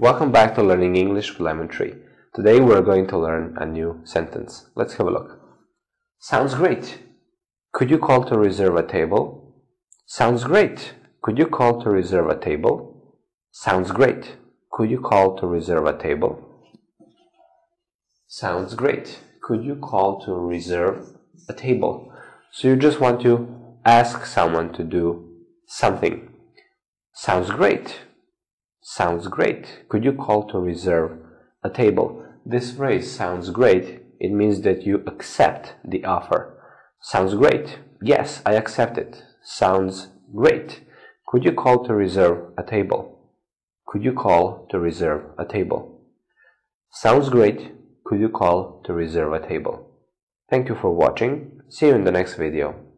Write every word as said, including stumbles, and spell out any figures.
Welcome back to Learning English with Lemon Tree. Today we're going to learn a new sentence. Let's have a look. Sounds great. Could you call to reserve a table? Sounds great. Could you call to reserve a table? Sounds great. Could you call to reserve a table? Sounds great. Could you call to reserve a table? So you just want to ask someone to do something. Sounds great. Sounds great. Could you call to reserve a table? This phrase sounds great. It means that you accept the offer. Sounds great. Yes, I accept it. Sounds great. Could you call to reserve a table? Could you call to reserve a table? Sounds great. Could you call to reserve a table? Thank you for watching. See you in the next video.